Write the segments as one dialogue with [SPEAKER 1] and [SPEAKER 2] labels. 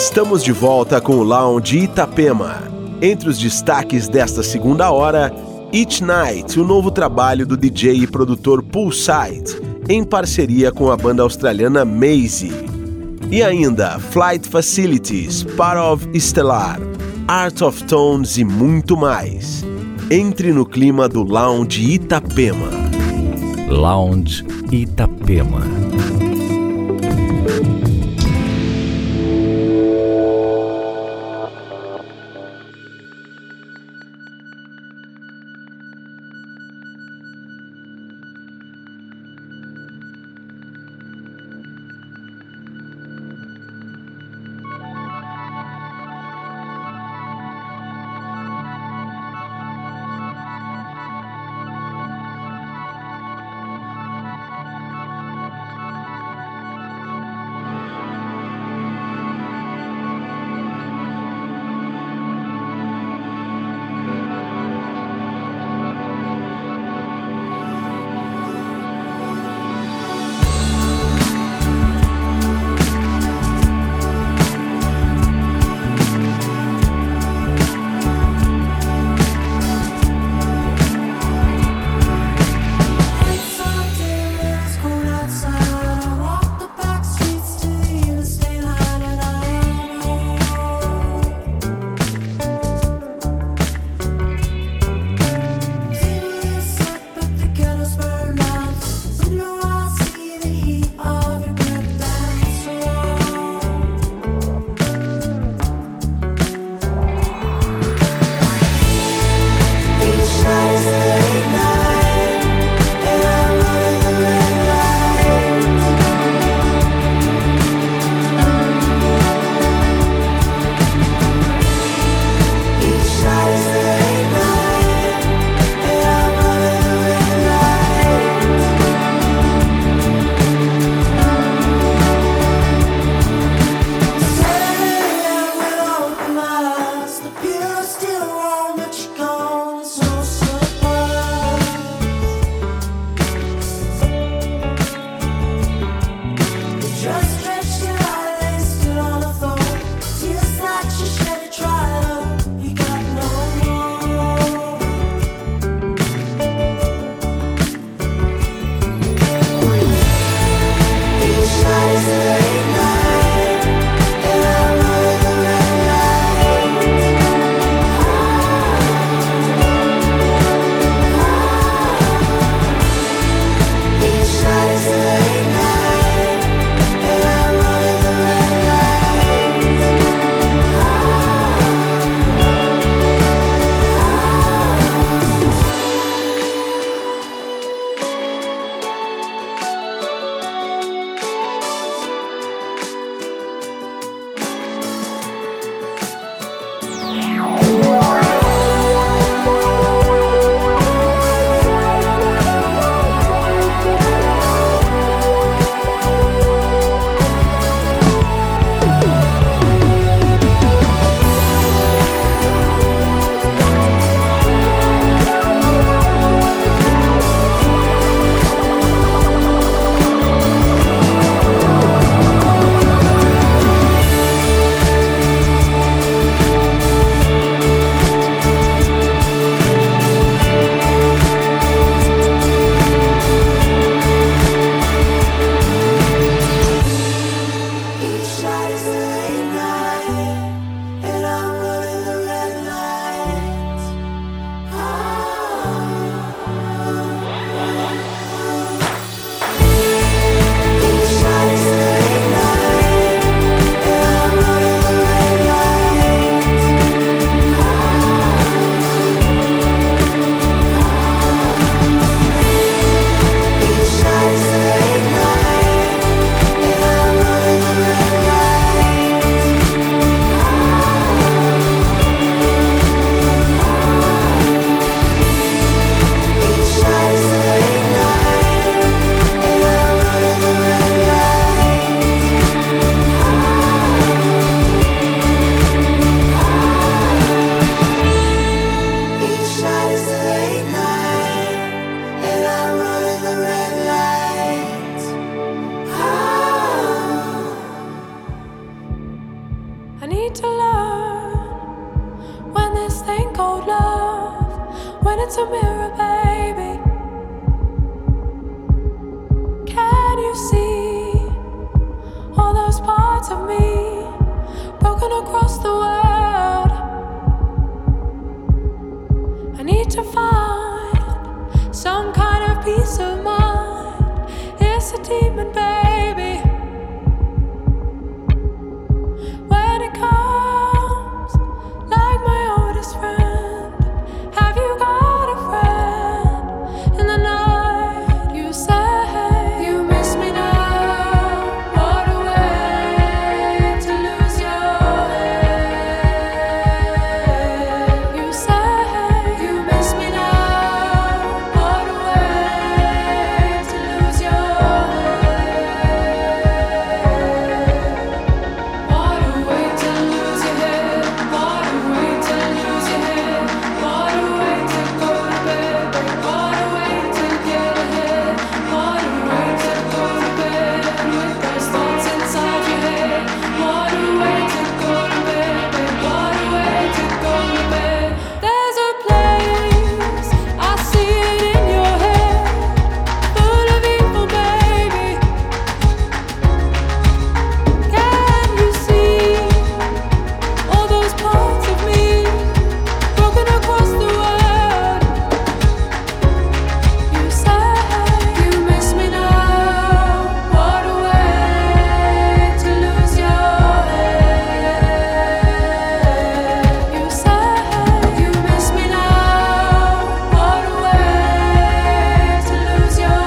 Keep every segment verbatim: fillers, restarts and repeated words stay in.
[SPEAKER 1] Estamos de volta com o Lounge Itapema. Entre os destaques desta segunda hora, Each Night, o novo trabalho do D J e produtor Poolside, em parceria com a banda australiana Maze. E ainda Flight Facilities, Part of Stellar, Art of Tones e muito mais. Entre no clima do Lounge Itapema.
[SPEAKER 2] Lounge Itapema.
[SPEAKER 3] it's a mirror, baby. Can you see all those parts of me broken across the world? I need to find some kind of peace of mind. It's a demon, baby. When it comes like my oldest friend, have you got a friend in the night? You say you miss me now. What a way to lose your head. You say you miss me now. What a way to lose your head. What a way to lose your head. What a way to lose your head. What a way to go to bed. What a way to get ahead. What a way to go to bed with those thoughts inside your head. What a way to go to bed. What a way to go to bed. There's a place, I see it in your head, full of evil, baby. Can you see all those parts of me broken across the world? You say you miss me now. What a way to lose your head. You say you miss me now. What a way to lose your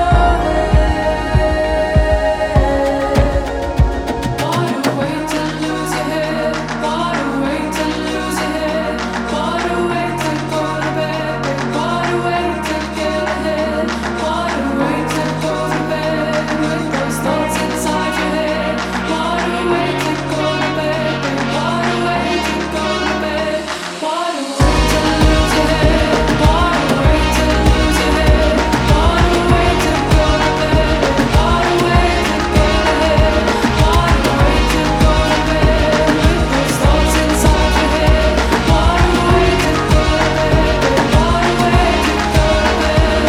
[SPEAKER 3] head. What a way to lose your head. What a way to lose your head. What a way to go to bed. What a way to get ahead. What a way to go to bed with those thoughts inside your head. What a way to go to bed. What a way to go to bed. What a way to lose your head. What a way to lose your head. What a way to go to bed. What a way to get ahead. What a way to go to bed with those thoughts inside your head. What a way to go to bed. What a way to go to bed.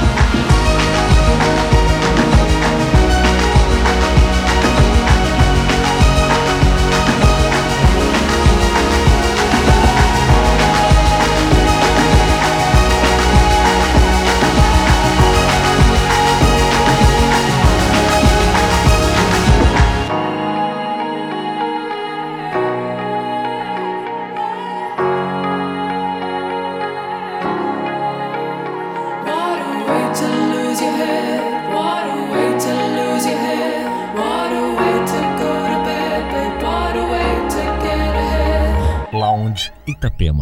[SPEAKER 3] What a way to lose your head. What a way to lose your head. What a way to go to bed, babe. What a way to get ahead.
[SPEAKER 2] Lounge Itapema.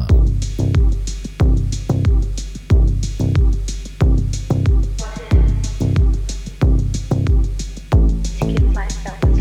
[SPEAKER 4] To give myself to you.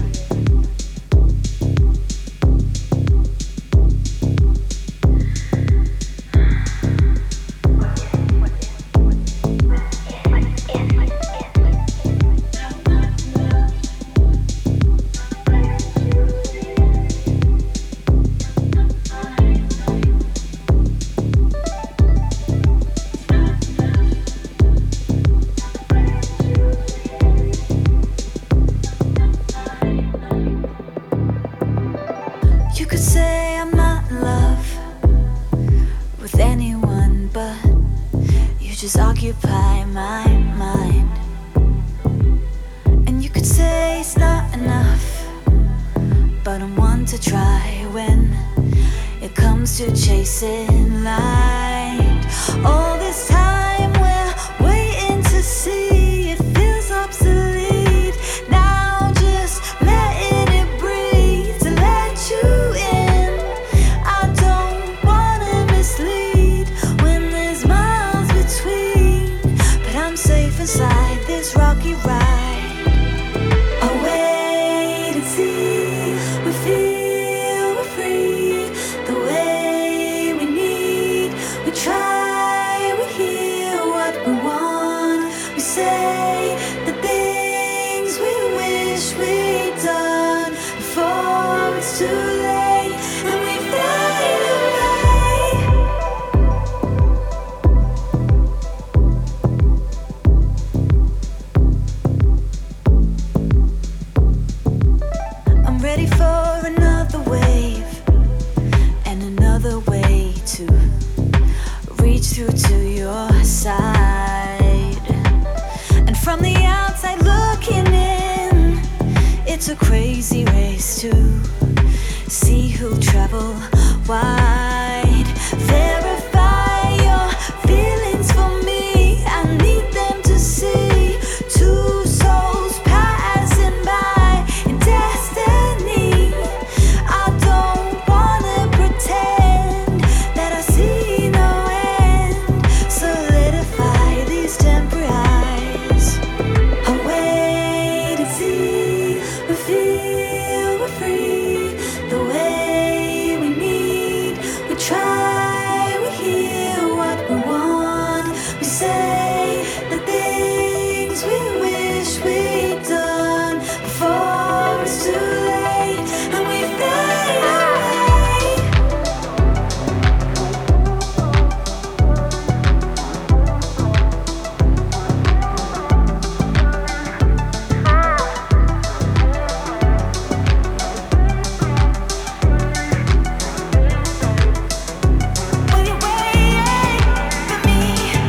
[SPEAKER 5] You could say I'm not in love with anyone, but you just occupy my mind. And you could say it's not enough, but I'm one to try when it comes to chasing light. All this time we're waiting to see, it feels obsolete. Now just letting it breathe to let you in. I don't wanna mislead when there's miles between, but I'm safe inside this rocky ride. I'll wait and see. We feel we're free the way we need. We try, we hear what we want. We say the things we wish we'd done before it's too late, and we fade away. It's a crazy race to see who'll travel wide. Verify your feelings for me. I need them to see two souls passing by in destiny. I don't wanna pretend that I see no end. Solidify these temporary eyes. I wait and see. We feel we're free. The way we need, we try, we hear what we want. We say the things we wish we'd done before it's too late, and we fade away. Will you wait for me?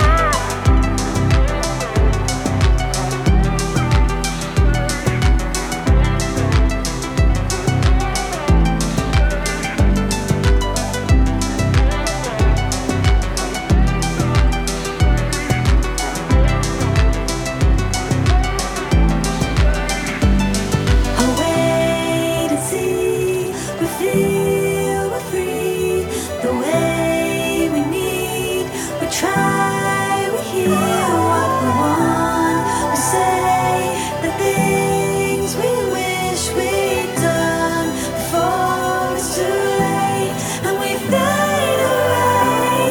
[SPEAKER 5] I'll wait and see. We feel we're free. The way we need. We try, we hear what we want. We say the things we wish we'd done before it's too late, and we fade away.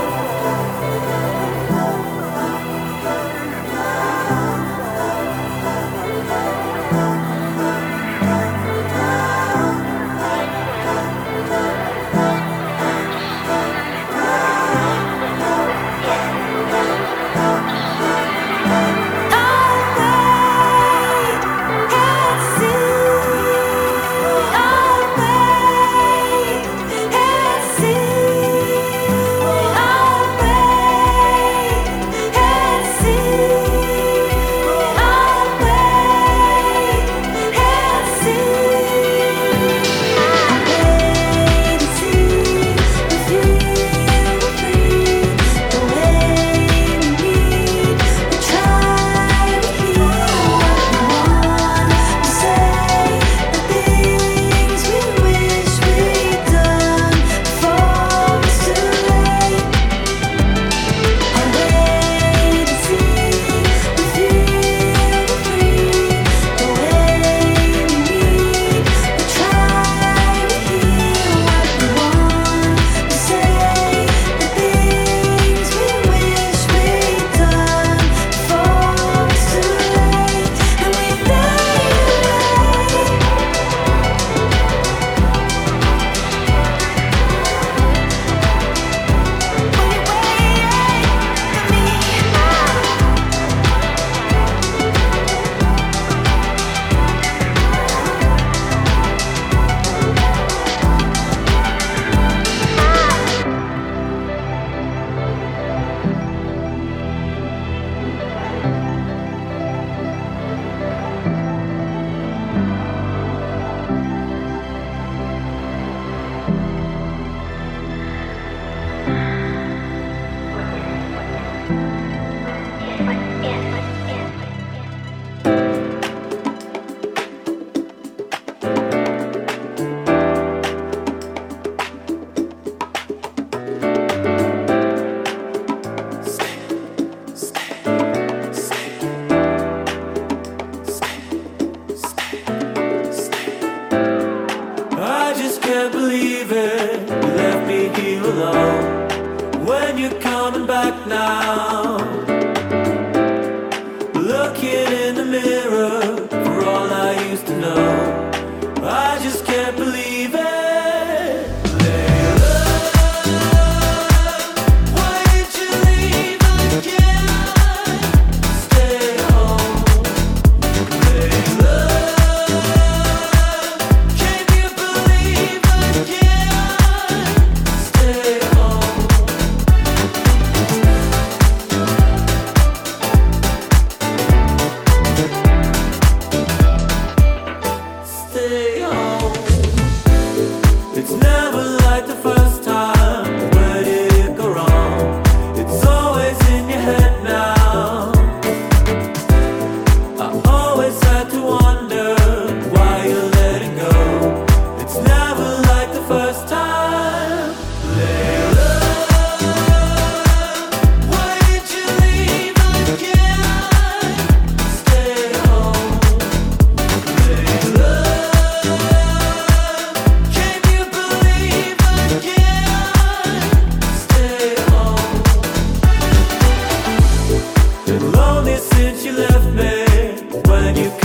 [SPEAKER 4] I just can't believe it. You left me here alone. When you're coming back now, looking in the mirror for all I used to know. I just can't believe it. Layla, why did you leave again? Stay home. Layla, can you believe again? Stay home.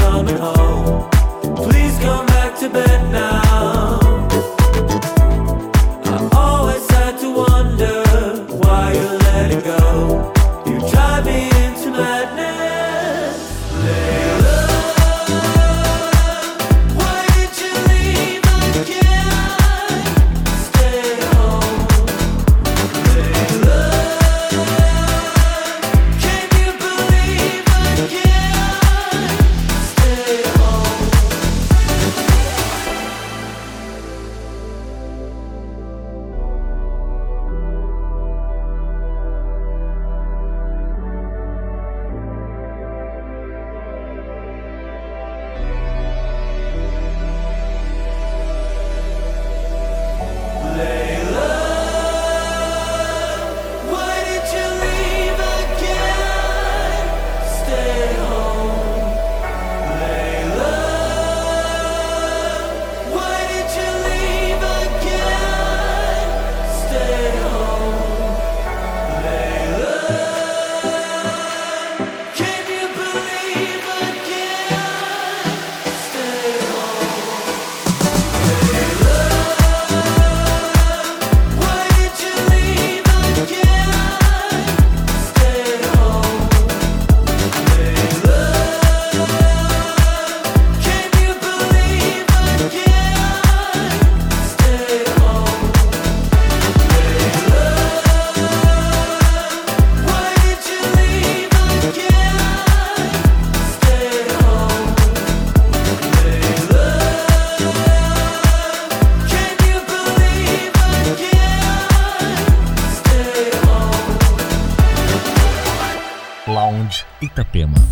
[SPEAKER 4] coming home. Please come back to bed now. I always had to wonder why you let it go. You drive me into madness, Layla. Why did you leave again? Stay home, Layla. Can you believe again? Stay home. Layla, why did you leave again? Stay home, Layla. Why did you leave again? Stay home, Layla. Can you believe again? Stay home, Layla. Why did you leave again? Stay home, Layla. Can you believe again? Stay home, Layla. Why did you leave again? Stay home, Layla. Can you believe again? Stay home.
[SPEAKER 2] Lounge Itapema.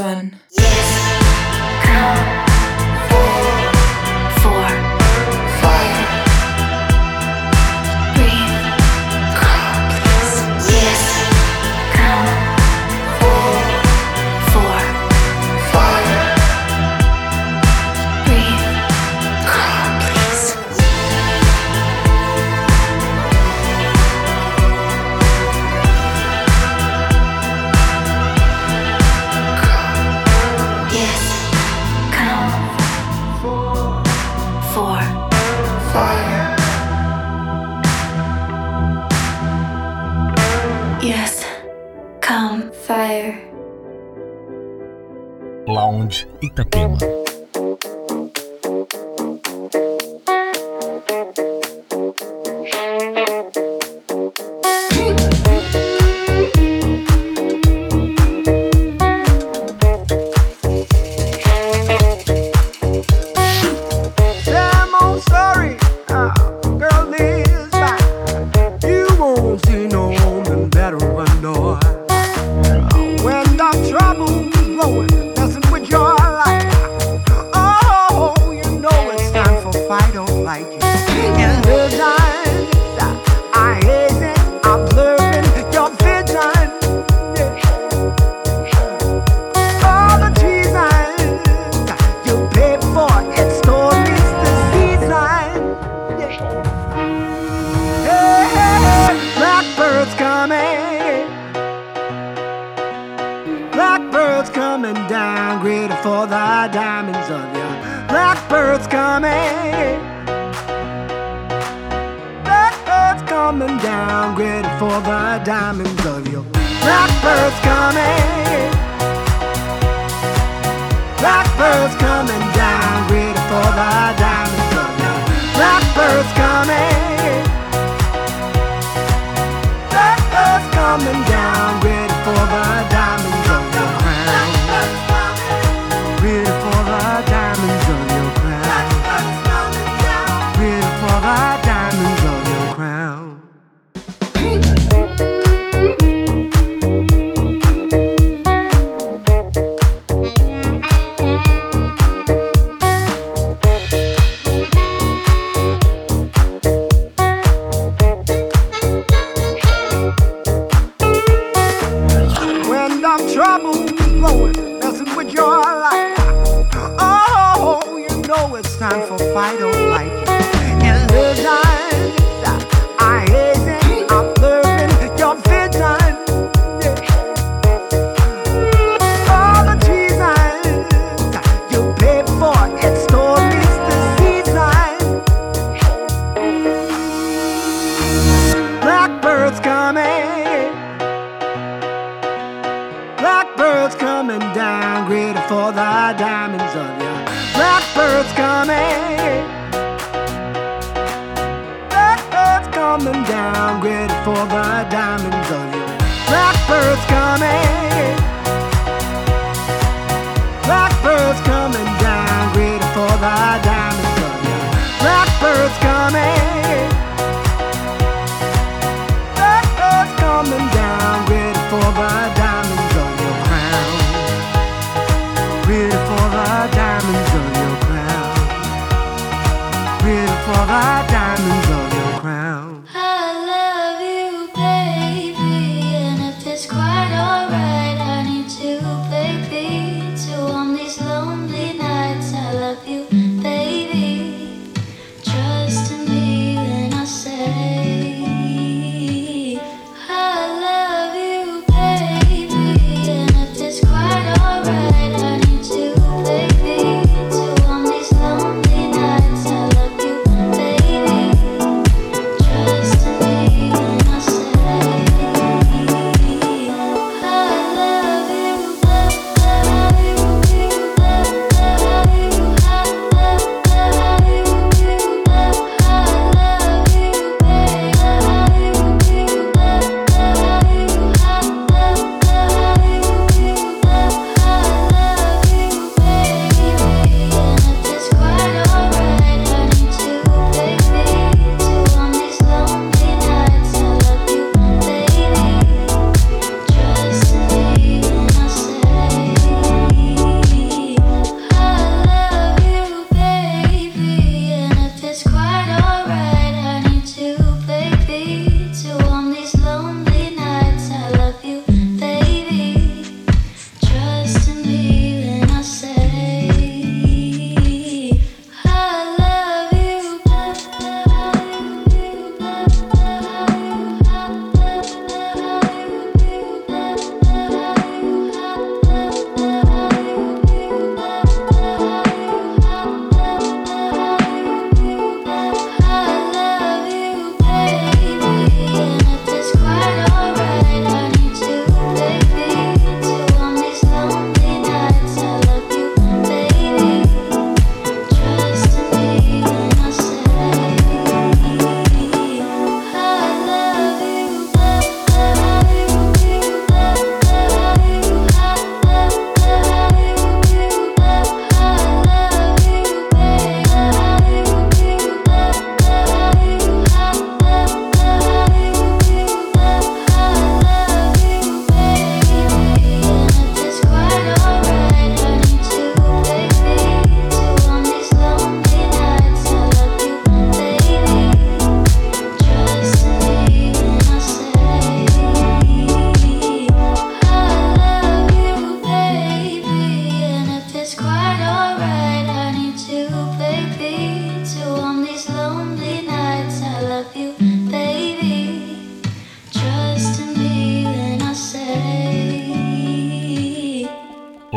[SPEAKER 3] fun.
[SPEAKER 2] Lounge Itapema.
[SPEAKER 6] Baby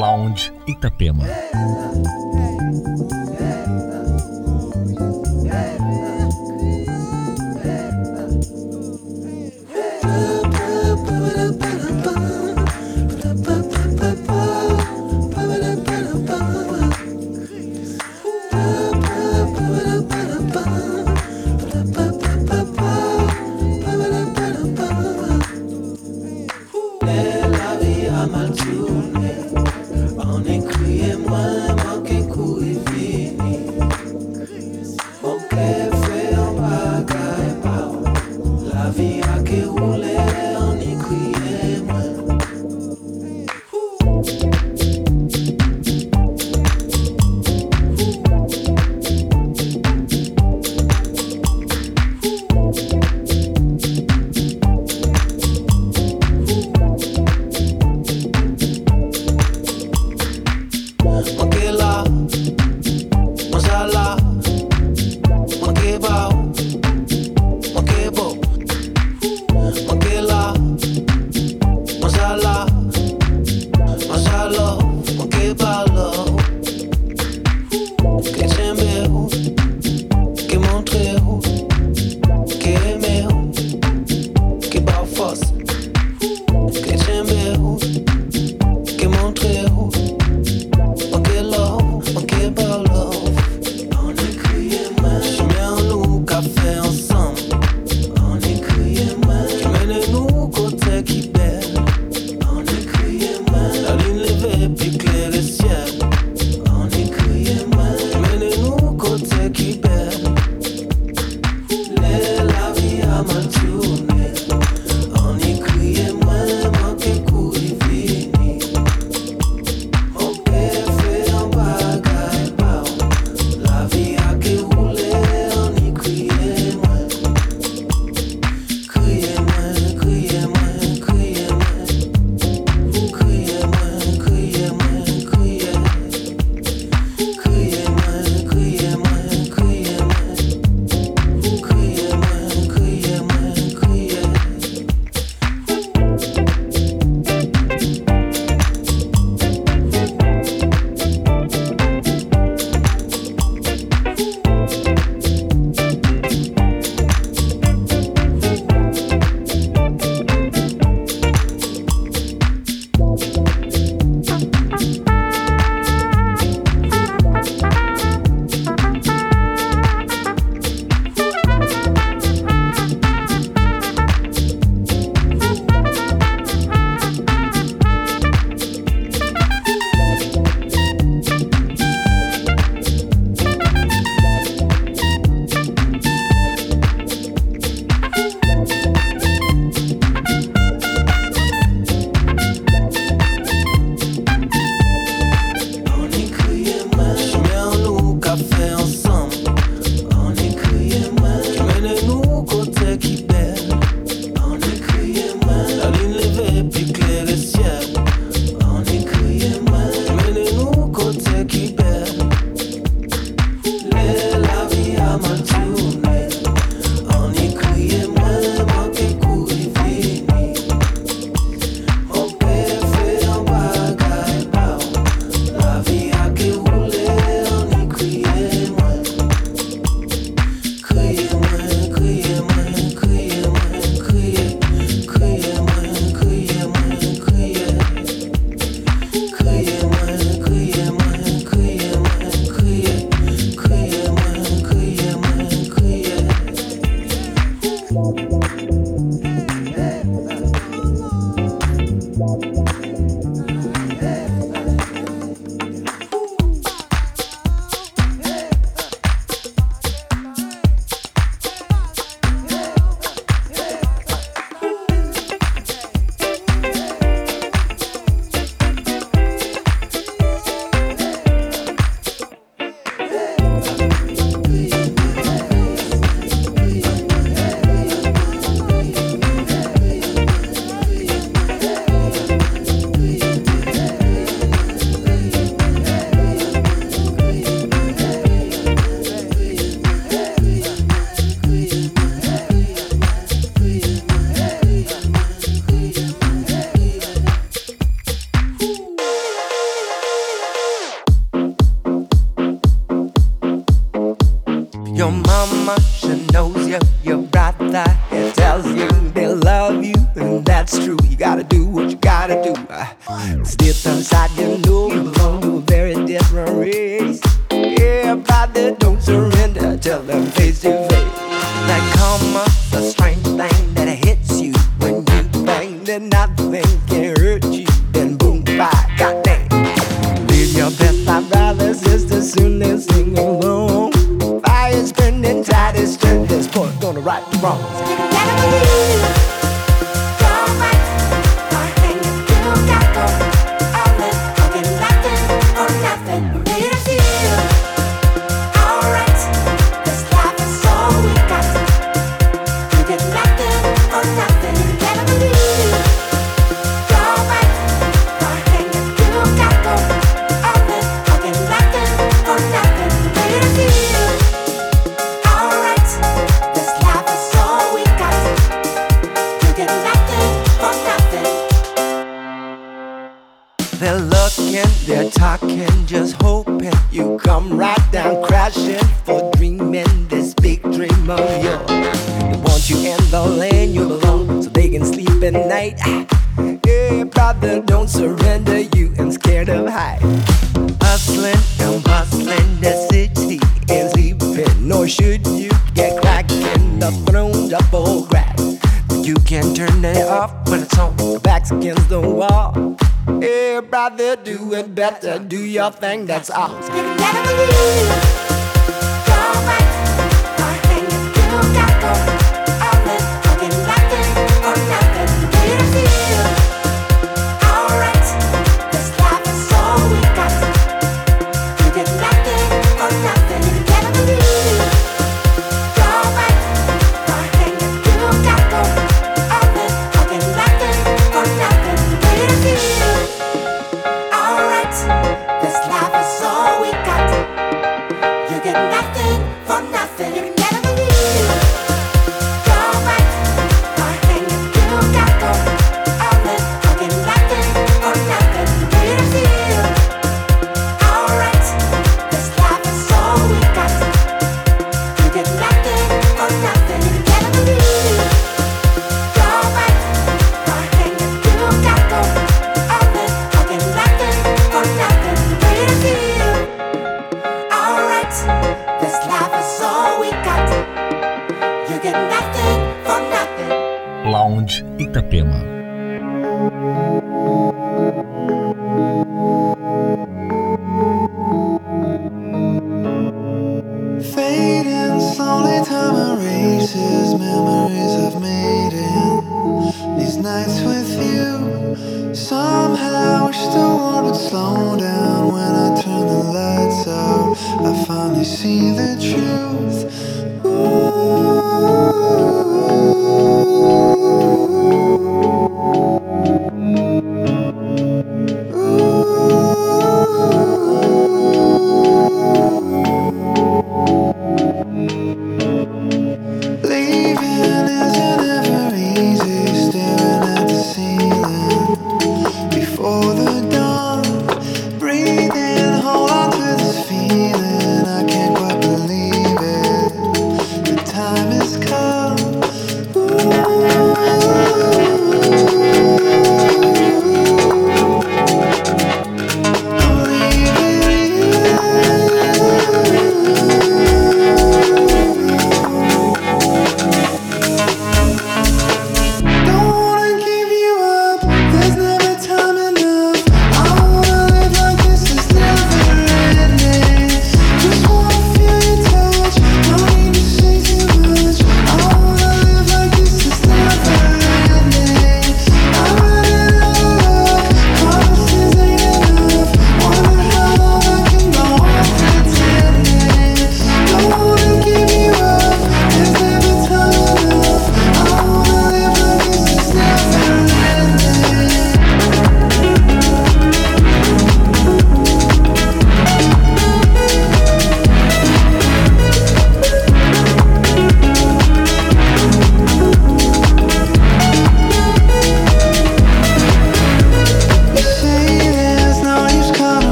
[SPEAKER 2] Lounge Itapema.
[SPEAKER 6] Porque Your mama, she knows you. Your brother, he tells you they love you, and that's true. You gotta do what you gotta do. Deep inside, you know you belong to a very different race. Yeah, brother, don't surrender. Tell them face to face. That karma's a strange thing that hits you when you think that nothing can hurt you. Then boom, bye, goddamn. Live your best life, brothers, sisters, soon as sing along. Fire's burning, tide is turned. This point gonna right the wrongs.
[SPEAKER 5] You gotta believe you're right. Or hang it, you got go. All in, fucking nothing or nothing. Made it feel alright. This life is all we got. You get nothing or nothing. You gotta believe you're right. Or hang it, you got go. All in, fucking nothing or nothing. Made it feel alright. This life is all we got. You get nothing for nothing.
[SPEAKER 6] They're looking, they're talking, just hoping you come right down crashing for dreaming this big dream of yours. They want you in the lane you belong so they can sleep at night. Yeah, brother, don't surrender, you ain't scared of height. Hustling and bustling, the city ain't sleeping, nor should you get cracking the throne up old grass. You can turn it off when it's on, the back's against the wall. Yeah, brother, do it better, do your thing, that's all.
[SPEAKER 5] You gotta believe you're right. Or hang it, you got go. All in, fucking nothing or nothing. Made it feel alright. This life is all we got. You get nothing or nothing. You gotta believe you're right. Or hang it, you got go. All in, fucking nothing or nothing. Made it feel alright. This life is all we got. You get nothing for nothing. You gotta believe you're right. Or hang it, you got go. All in, fucking nothing or nothing. Made it feel alright. This life is all we got. You get nothing for nothing. You gotta believe you're right. Or hang it, you got go. All in, fucking nothing or nothing. Made it feel alright. This life is all we got. You get nothing for nothing.
[SPEAKER 2] Lounge Itapema.
[SPEAKER 7] Fading slowly, time erases memories I've made in these nights with you. Somehow wish the world would slow down when I turn the lights out. I finally see the truth. Ooh. Leaving isn't ever easy, staring at the ceiling before the dawn. Breathing, hold on to this feeling, I can't quite believe it.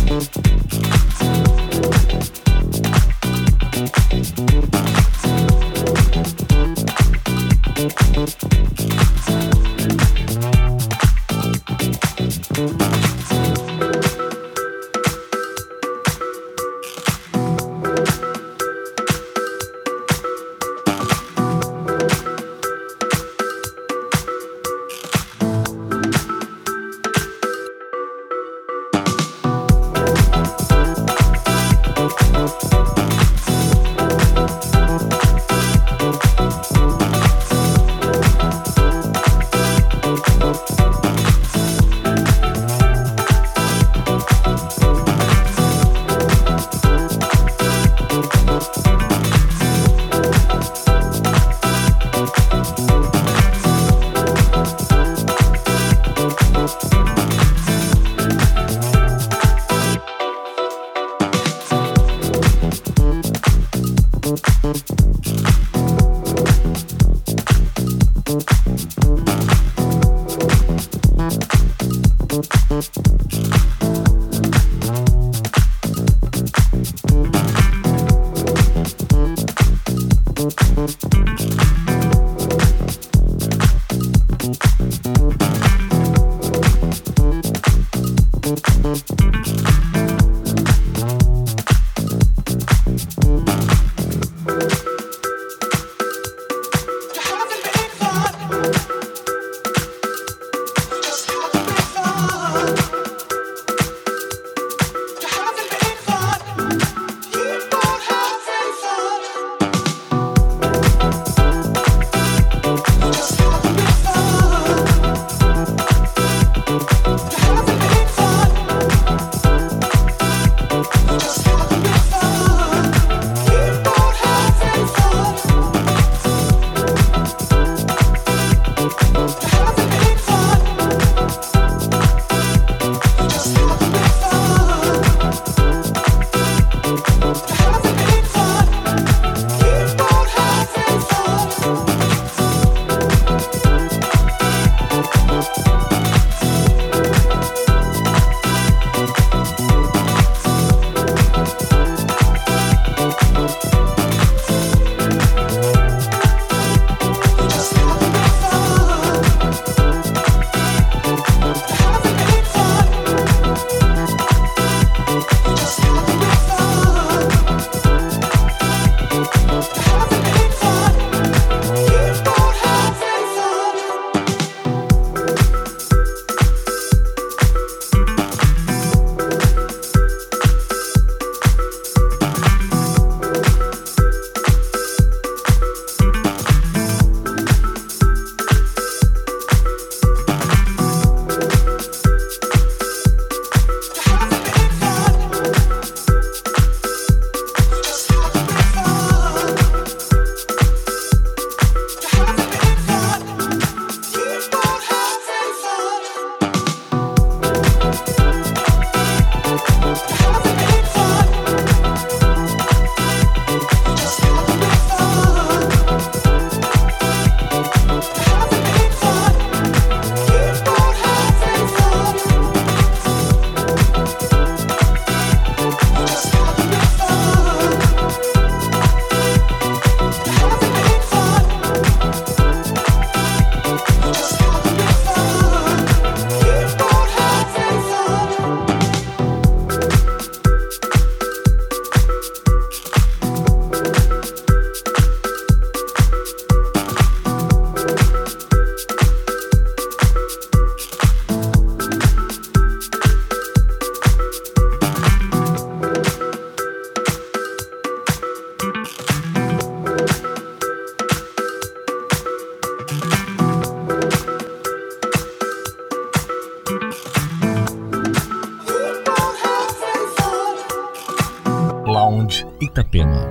[SPEAKER 2] Lounge Itapema.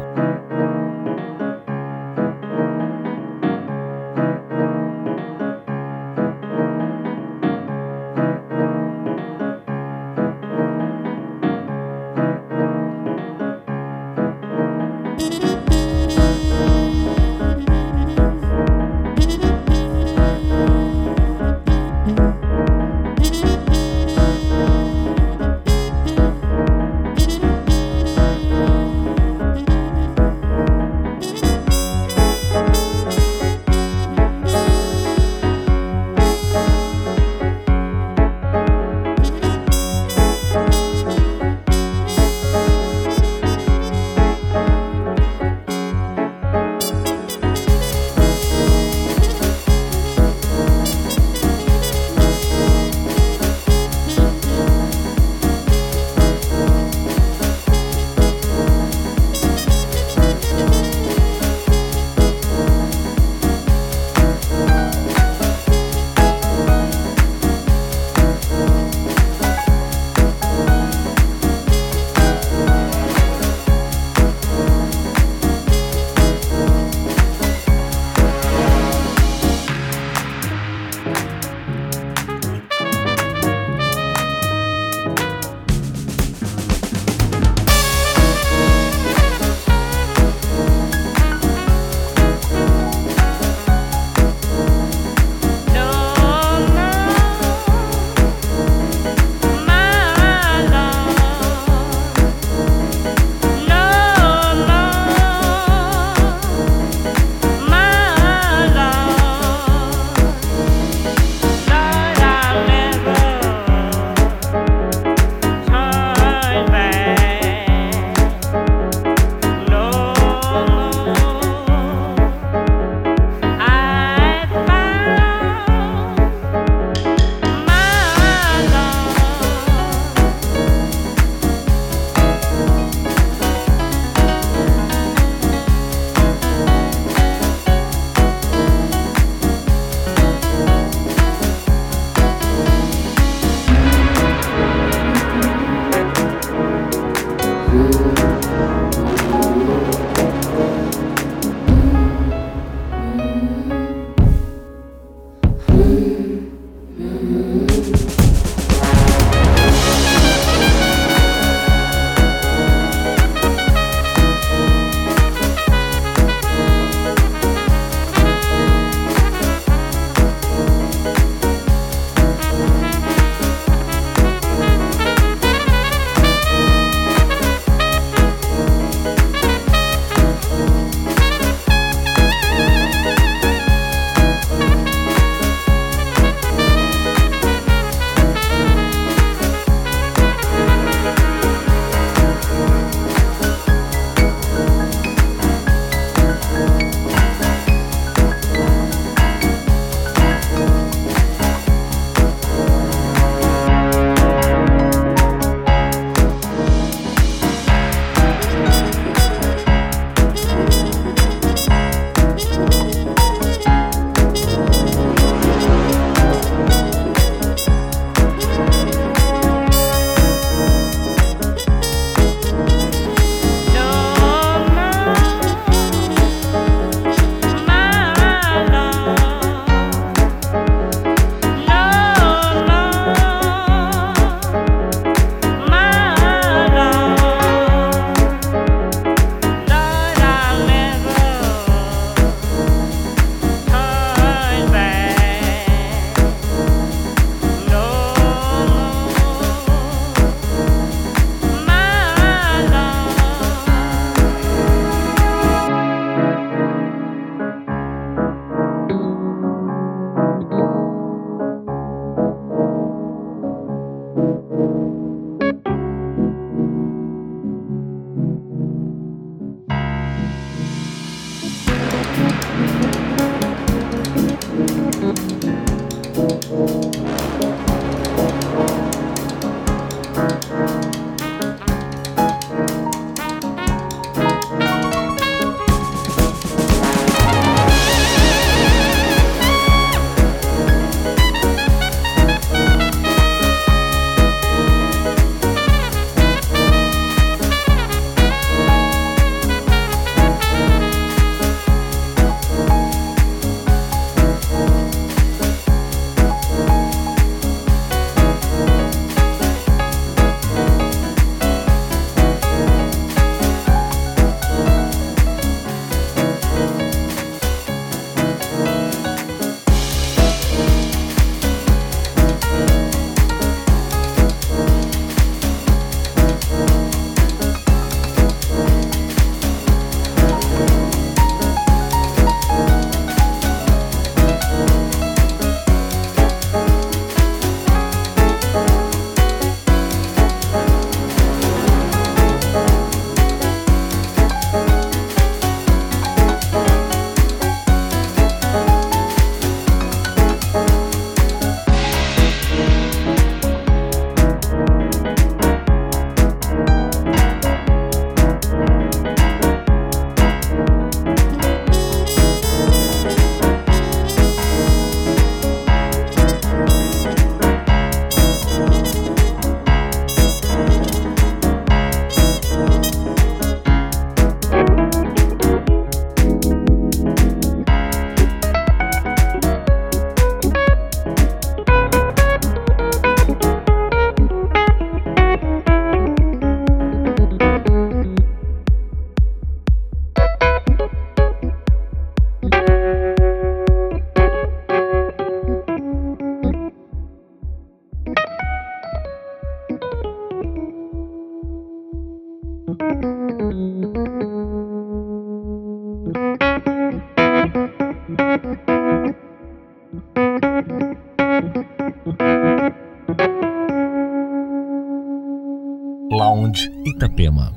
[SPEAKER 2] Lounge Itapema.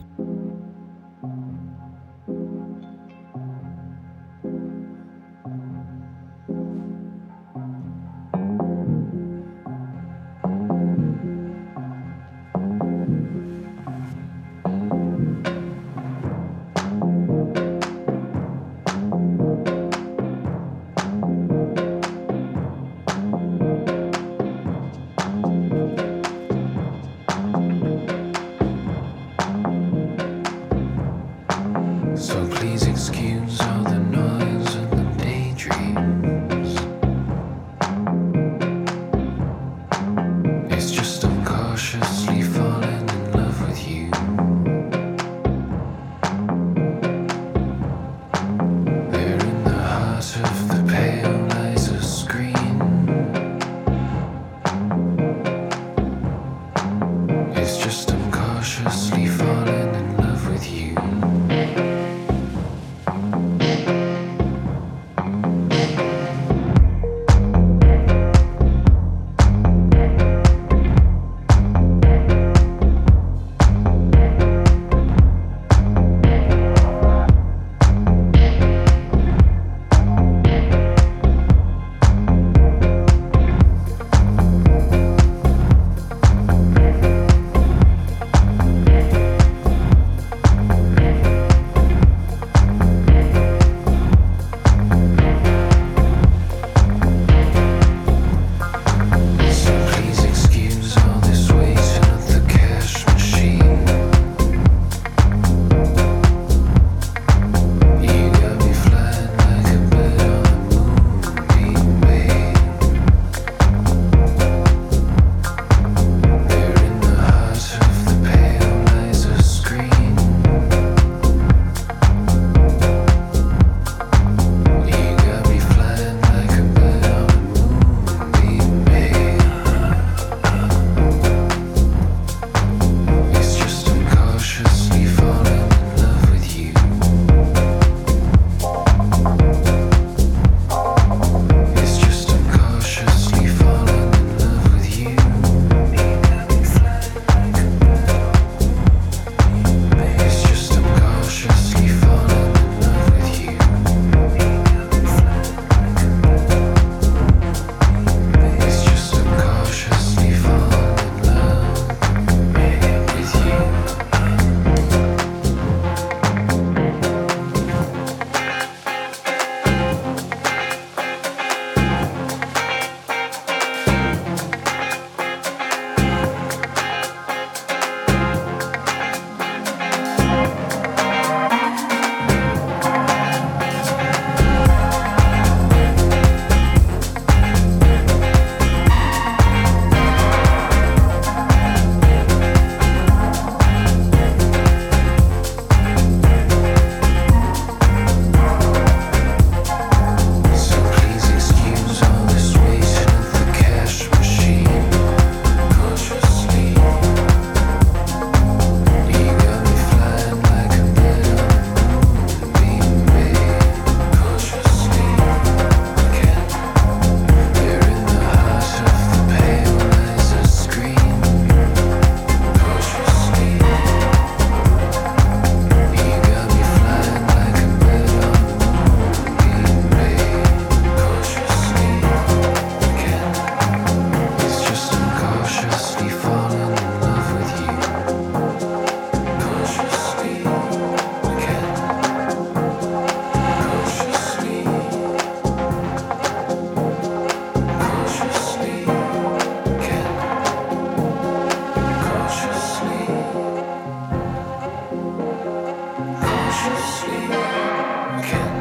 [SPEAKER 3] Cautiously again.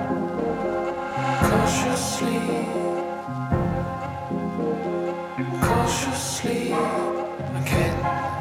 [SPEAKER 3] Cautiously. Cautiously again.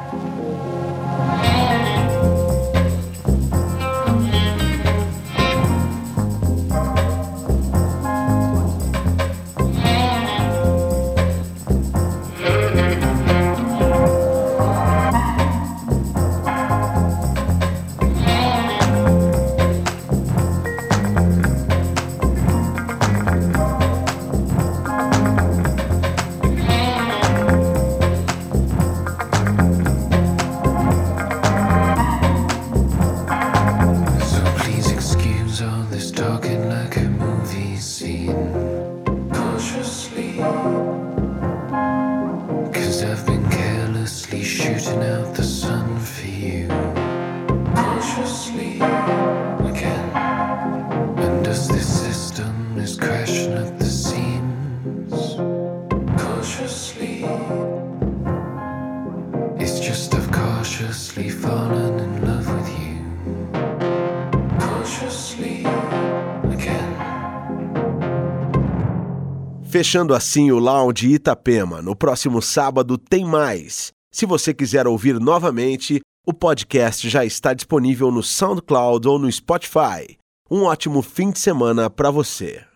[SPEAKER 1] Fechando assim o Lounge Itapema. No próximo sábado tem mais. Se você quiser ouvir novamente, o podcast já está disponível no SoundCloud ou no Spotify. Um ótimo fim de semana para você.